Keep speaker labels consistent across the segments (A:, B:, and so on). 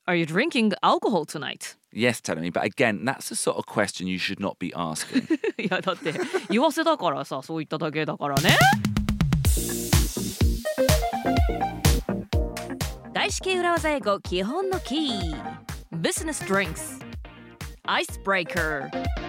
A: Are you drinking alcohol tonight?
B: Yes, telling me, but again, that's the sort of question you should not be asking.
A: いやだって言わせだからさ、そう言っただけだからね。外資系裏技英語基本のキー Business Drinks Icebreaker。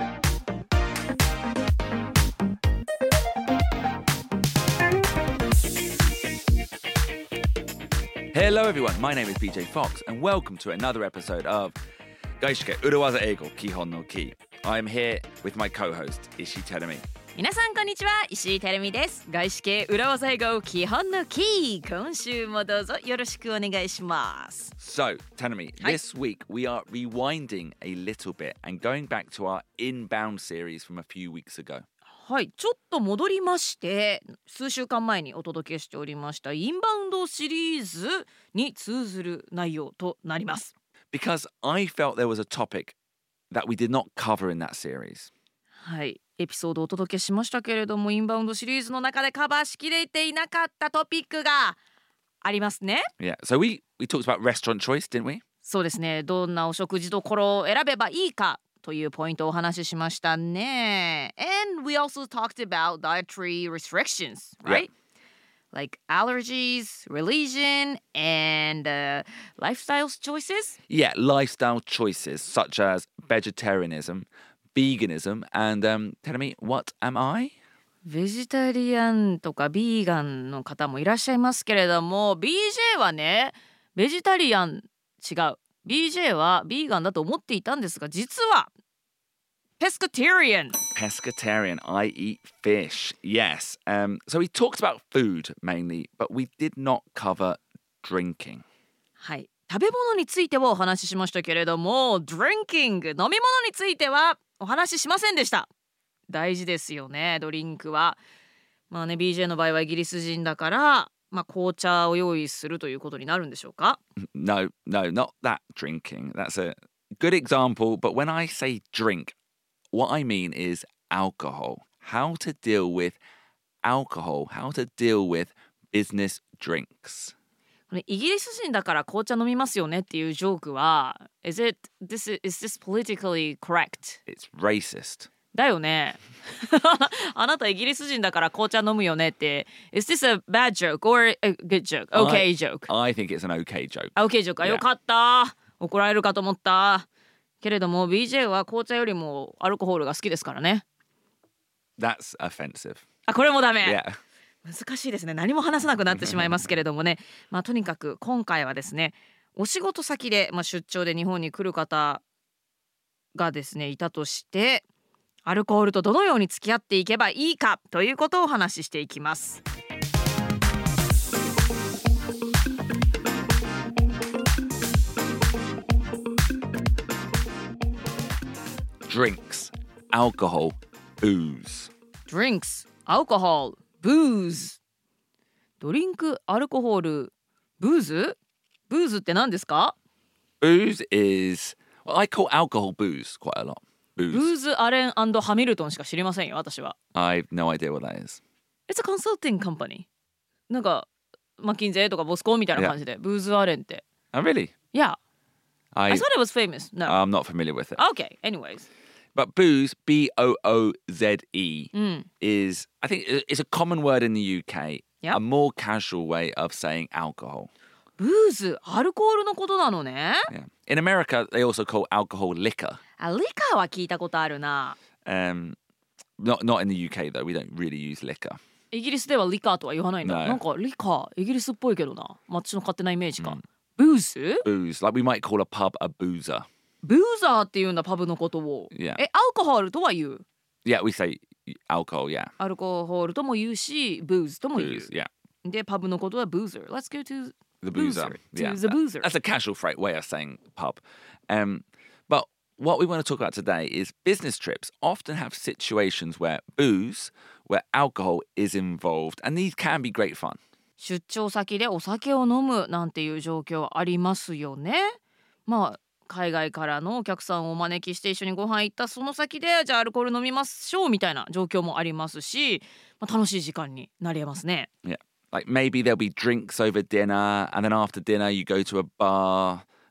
B: Hello everyone, my name is BJ Fox and welcome to another episode of 外資系裏技英語基本のキー。I'm here with my co-host, Ishii Terumi.
A: 皆さんこんにちは、石井てるみです。外資系裏技英語基本のキー、今週もどうぞよろしくお願いします。
B: So, Terumi, this week we are rewinding a little bit and going back to our Inbound series from a few weeks ago.
A: はい、ちょっと戻りまして数週間前にお届けしておりましたインバウンドシリーズに通ずる内容となります。
B: Because I felt there was a topic that we did not cover in that series.
A: はい、エピソードをお届けしましたけれども、インバウンドシリーズの中でカバーしきれていなかったトピックがありますね。
B: Yeah, so we talked about restaurant choice, didn't we?
A: そうですね、どんなお食事処を選べばいいかというポイントをお話ししましたね。 And we also talked about dietary restrictions, right? Like allergies, religion, and lifestyle choices?
B: Yeah, lifestyle choices such as vegetarianism, veganism, and tell me, what am I?
A: ベジタリアンとかビーガンの方もいらっしゃいますけれども、 BJ はね、ベジタリアン違う。BJ はビーガンだと思っていたんですが、実はPescatarian.
B: Pescatarian, I eat fish. Yes. So we talked about food mainly, but we did not cover drinking.
A: はい、食べ物についてはお話ししましたけれども、 Drinking 飲み物についてはお話ししませんでした。大事ですよね、ドリンクは。まあね、BJ の場合はイギリス人だから、まあ、紅茶を用意するということになるんでしょうか。
B: No, not that drinking. That's a good example. But when I say drink, what I mean is alcohol. How to deal with alcohol. How to deal with business drinks.
A: イギリス人だから紅茶飲みますよねっていうジョークは is this politically correct?
B: It's racist.
A: だよね。あなたイギリス人だから紅茶飲むよねって Is this a bad joke or a good joke? Okay joke.
B: I think it's an okay joke.
A: Okay joke. あ、よかった。怒られるかと思った。けれども BJ は紅茶よりもアルコールが好きですからね。
B: That's offensive.
A: あ、これもダメ。
B: Yeah.
A: 難しいですね。何も話せなくなってしまいますけれどもね。まあとにかく今回はですね、お仕事先で、出張で日本に来る方がですねいたとして、アルコールとどのように付き合っていけばいいかということをお話ししていきます。
B: Drinks, alcohol, booze.
A: Drinks, alcohol, booze. ドリンク、アルコール、ブーズ？ブーズって何ですか？
B: Booze is... Well, I call alcohol booze quite a lot.
A: ブ
B: Booze.
A: ーズ・アレン&ハミルトンしか知りませんよ、私は。
B: I've no idea what that is.
A: It's a consulting company. なんかマッキンゼーとかボスコンみたいな感じで、ブーズ・アレンって。
B: Oh, really?
A: Yeah, I
B: I
A: thought it was famous. No.
B: I'm not familiar with it.
A: Okay, anyways.
B: But booze, B-O-O-Z-E, is, I think it's a common word in the UK,
A: Yep.
B: a more casual way of saying alcohol.
A: ブーズ、アルコールのことなのね。
B: Yeah. In America, they also call alcohol liquor.
A: あ、リカーは聞いたことあるな。
B: Not in the UK, though. We don't really use liquor.
A: イギリスではリカーとは言わないんだ。
B: No.
A: なんかリカー、イギリスっぽいけどな。私の勝手なイメージか。ブーズ？
B: Booze, like we might call a pub a boozer.
A: ブーザーっていうんだ、パブのことを。
B: Yeah.
A: アルコールとは言う。
B: Yeah, we say alcohol, yeah.
A: アルコールとも言うし、ブーズとも言う。
B: Booze, yeah.
A: で、パブのことはブーザー。Let's go to
B: The boozer.
A: To
B: Yeah.
A: the boozer.
B: That's a casual way of saying pub. But what we want to talk about today is business trips often have situations where booze, where alcohol is involved, and these can be great fun.
A: 出張先でお酒を飲むなんていう状況ありますよね。まあ海外からのお客さんをお招きして一緒にご飯行ったその先でじゃあアルコール飲みましょうみたいな状況もありますし、楽しい時間になり得ますね。
B: Yeah. Like maybe there'll be drinks over dinner, and then after dinner you go to a bar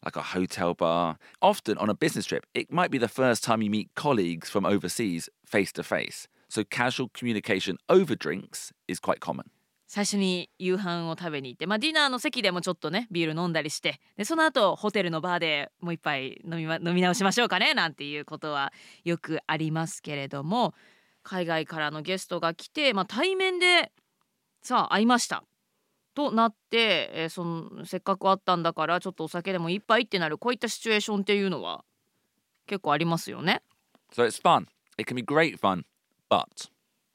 B: like a hotel bar. Often on a business trip, it might be the first time you meet colleagues from overseas face to face. So casual communication over drinks is quite common.
A: 最初に夕飯を食べに行って、ディナーの席でもちょっとねビール飲んだりして、でその後ホテルのバーでもう一杯飲み直しましょうかねなんていうことはよくありますけれども、海外からのゲストが来て、対面でさあ会いましたとなって、せっかく会ったんだからちょっとお酒でも一杯ってなる、こういったシチュエーションっていうのは結構ありますよね。
B: So it's fun. It can be great fun, but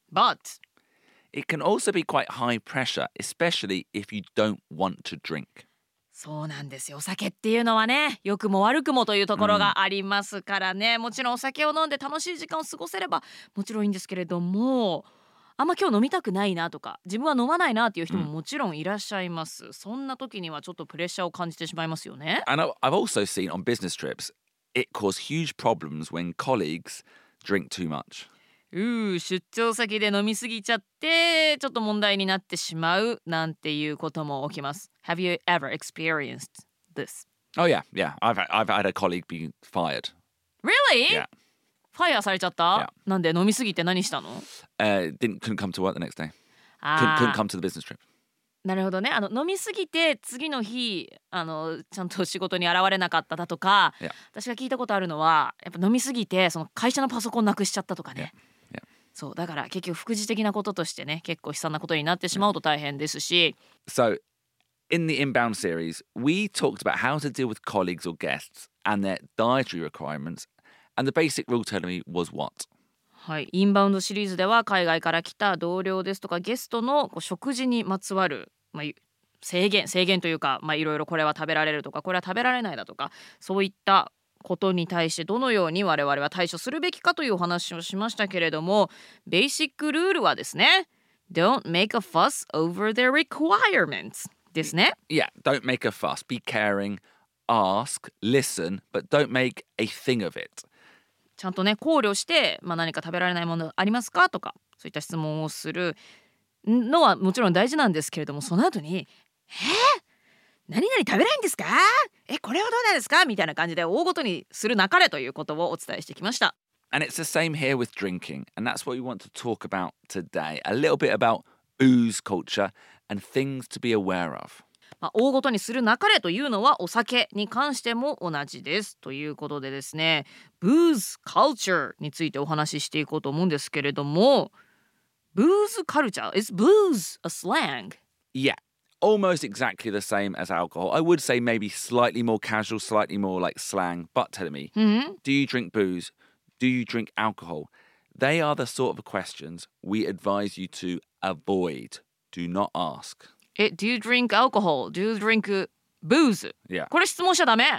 B: it can also be quite high pressure, especially if you don't want to drink.
A: そうなんですよ。お酒っていうのはね、良くも悪くもというところがありますからね、もちろんお酒を飲んで楽しい時間を過ごせればもちろんいいんですけれども、あんま今日飲みたくないなとか自分は飲まないなっていう人ももちろんいらっしゃいます。そんな時にはちょっとプレッシャーを感じてしまいますよね。
B: And I've also seen on business trips, it causes huge problems when colleagues drink too much.
A: 出張先で飲みすぎちゃってちょっと問題になってしまうなんていうことも起きます。 Have you ever experienced this?
B: Oh yeah. I've had a colleague be fired.
A: Really?
B: Yeah.
A: ファイヤーされちゃった、なんで飲みすぎて何したの？
B: Couldn't come to work the next day. Couldn't come to the business trip.
A: なるほどね。飲みすぎて次の日ちゃんと仕事に現れなかっただとか、私が聞いたことあるのはやっぱ飲みすぎてその会社のパソコンなくしちゃったとかね。そうだから結局副次的なこととしてね結構悲惨なことになってしまうと大変ですし。
B: So in the Inbound series, we talked about how to deal with colleagues or guests and their dietary requirements, and the basic rule telling me was what?
A: はい、インバウンドシリーズでは海外から来た同僚ですとかゲストの食事にまつわる、制限というか、いろいろこれは食べられるとかこれは食べられないだとか、そういったことに対してどのように我々は対処するべきかというお話をしましたけれども、ベーシックルールはですね Don't make a fuss over their requirements ですね。
B: Yeah, don't make a fuss. Be caring, ask, listen, but don't make a thing of it.
A: ちゃんとね考慮して、何か食べられないものありますかとかそういった質問をするのはもちろん大事なんですけれども、その後に何々食べないんですか？これはどうなんですか？みたいな感じで大ごとにするなかれということをお伝えしてきました。
B: And it's the same here with drinking, and that's what we want to talk about today. A little bit about booze culture and things to be aware of.
A: 大ごとにするなかれというのはお酒に関しても同じですということでですね、booze culture についてお話ししていこうと思うんですけれども、booze culture is booze a slang?
B: Yeah, almost exactly the same as alcohol. I would say maybe slightly more casual, slightly more like slang. But tell me, do you drink booze? Do you drink alcohol? They are the sort of questions we advise you to avoid. Do not ask.
A: Do you drink alcohol? Do you drink booze?
B: Yeah.
A: これ質問しちゃダメ。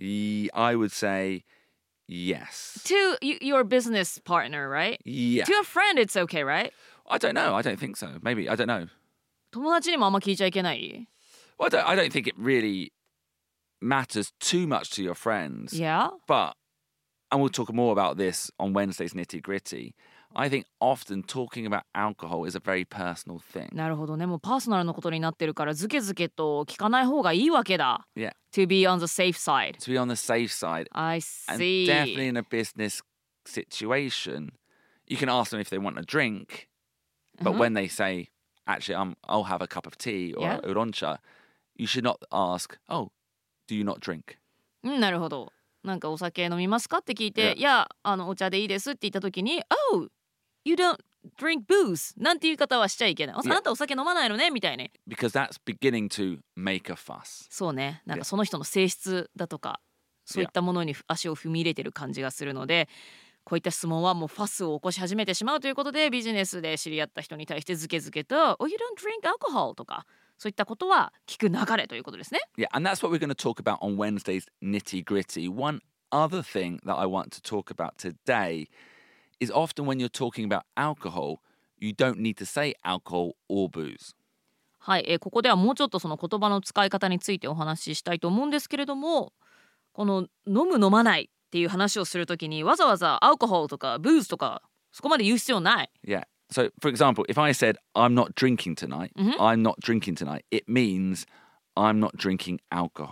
B: I would say yes.
A: To your business partner, right?
B: Yeah.
A: To a friend, it's okay, right?
B: I don't know. I don't think so. Maybe. I don't know.
A: 友達にもあんま聞いちゃいけない？
B: Well, I don't think it really matters too much to your friends.
A: Yeah.
B: But, and we'll talk more about this on Wednesday's Nitty Gritty, I think often talking about alcohol is a very personal thing.
A: なるほどね。もうパーソナルのことになってるからずけずけと聞かない方がいいわけだ。
B: Yeah.
A: To be on the safe side.
B: To be on the safe side.
A: I see.
B: And definitely in a business situation, you can ask them if they want a drink, but when they say, actually, I'll have a cup of tea or uroncha, you should not ask, oh, do you not drink?
A: なるほど。なんかお酒飲みますかって聞いて、いや、お茶でいいですって言った時に、Oh, you don't drink booze なんていう言い方はしちゃいけない。あなたお酒飲まないのねみたいに。
B: Because that's beginning to make a fuss.
A: そうね。なんかその人の性質だとか、そういったものに足を踏み入れてる感じがするので、こういった質問はもうファスを起こし始めてしまうということで、ビジネスで知り合った人に対してずけずけと Oh, you don't drink alcohol とかそういったことは聞く流れということですね。
B: Yeah, and that's what we're going to talk about on Wednesday's Nitty Gritty. One other thing that I want to talk about today is often when you're talking about alcohol, you don't need to say alcohol or booze.
A: はい、ここではもうちょっとその言葉の使い方についてお話ししたいと思うんですけれども、この飲む飲まないっていう話をするときにわざわざアルコールとかブーズとかそこまで言う必要ない。
B: Yeah. So, for example, if I said, I'm not drinking tonight, I'm not drinking tonight, it means I'm not drinking alcohol.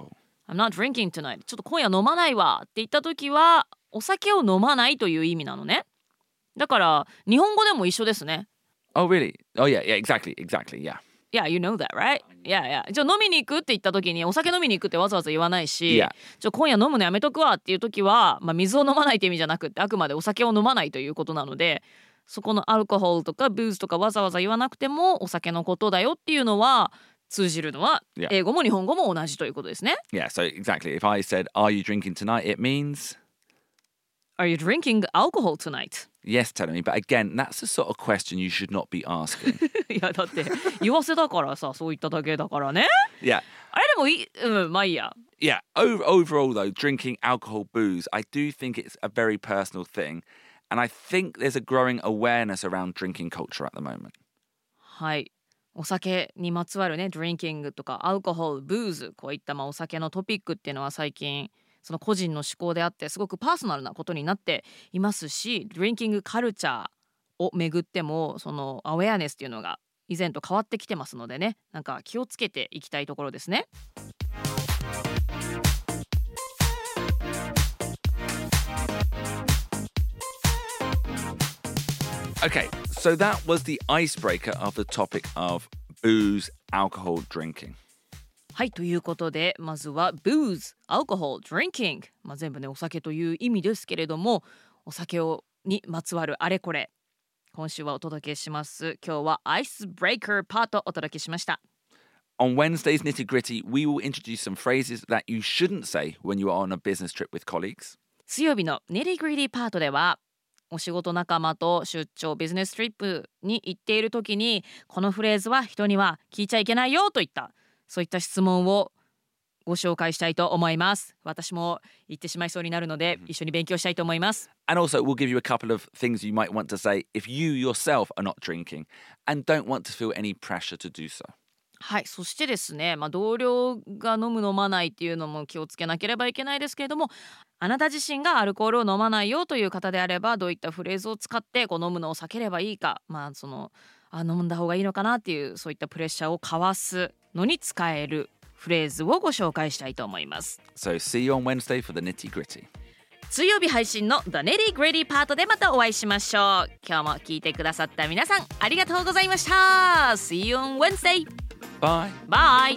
A: I'm not drinking tonight ちょっと今夜飲まないわって言った時はお酒を飲まないという意味なのね。だから日本語でも一緒ですね。
B: Oh, really? Oh, yeah, exactly, yeah.
A: Yeah, you know that, right? Yeah. じゃあ飲みに行くって言った時にお酒飲みに行くってわざわざ言わないし、
B: Yeah.
A: 今夜飲むのやめとくわっていう時は、水を飲まないって意味じゃなくってあくまでお酒を飲まないということなので、そこのアルコホールとかブーズとかわざわざ言わなくてもお酒のことだよっていうのは通じるのは
B: Yeah.
A: 英語も日本語も同じということですね。
B: Yeah, so exactly. If I said, are you drinking tonight? It means,
A: Are you drinking alcohol tonight?
B: yes, telling me. But again, that's the sort of question you should not be asking.
A: いやだって言わせだからさそう言っただけだからね。
B: Yeah.
A: あれでもいい、まあいいや。
B: Yeah, overall though, drinking alcohol, booze, I do think it's a very personal thing. And I think there's a growing awareness around drinking culture at the moment.
A: はい。お酒にまつわるね、ドリンキングとかアルコホール、ブーズ、こういったお酒のトピックっていうのは最近その個人の思考であってすごくパーソナルなことになっていますし、ドリンキングカルチャーをめぐってもそのアウェアネスっていうのが以前と変わってきてますのでね、なんか気をつけていきたいところですね。
B: Okay, so that was the icebreaker of the topic of booze, alcohol, drinking.
A: はい、ということでまずは booze, alcohol, drinking、全部ねお酒という意味ですけれども、お酒にまつわるあれこれ今週はお届けします。今日はアイスブレイカーパートお届けしました。
B: On Wednesday's Nitty Gritty, we will introduce some phrases that you shouldn't say when you are on a business trip with colleagues.
A: 水曜日のネリグリディパートではお仕事仲間と出張ビジネストリップに行っている時にこのフレーズは人には聞いちゃいけないよといったそういった質問をご紹介したいと思います。私も言ってしまいそうになるので一緒に勉強したいと思います。
B: And also, we'll give you a couple of things you might want to say if you yourself are not drinking and don't want to feel any pressure to do so.
A: はい、そしてですね、同僚が飲む飲まないっていうのも気をつけなければいけないですけれども、あなた自身がアルコールを飲まないよという方であればどういったフレーズを使って飲むのを避ければいいか、飲んだ方がいいのかなっていうそういったプレッシャーをかわすのに使えるフレーズをご紹介したいと思います。
B: So see you on Wednesday for the Nitty Gritty.
A: 水曜日配信の The Nitty Gritty パートでまたお会いしましょう。今日も聞いてくださった皆さんありがとうございました。 See you on Wednesday.
B: Bye.
A: Bye.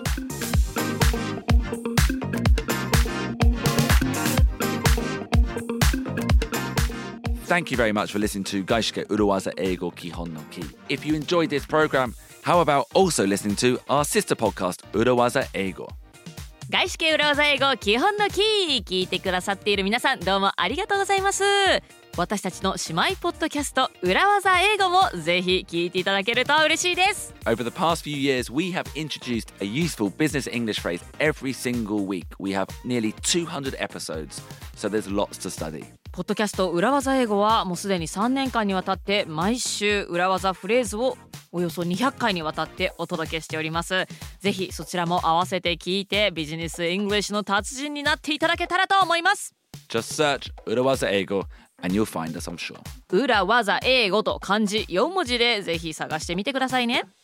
B: Thank you very much for listening to Gaishike Uruwaza Eigo Kihon no Ki. If you enjoyed this program, how about also listening to our sister podcast, Uruwaza Eigo?
A: 外資系裏技英語基本のキー聞いてくださっている皆さんどうもありがとうございます。私たちの姉妹ポッドキャスト裏技英語もぜひ聞いていただけると嬉しいです。
B: Over the past few years, we have introduced a useful business English phrase every single week. We have nearly 200 episodes, so there's lots to study.
A: ポッドキャスト裏技英語はもうすでに3年間にわたって毎週裏技フレーズをおよそ200回にわたってお届けしております。ぜひそちらも合わせて聞いてビジネスイングリッシュの達人になっていただけたらと思います。
B: Just search Urawaza Eigo and you'll find us, I'm sure.
A: 裏技英語と漢字4文字でぜひ探してみてくださいね。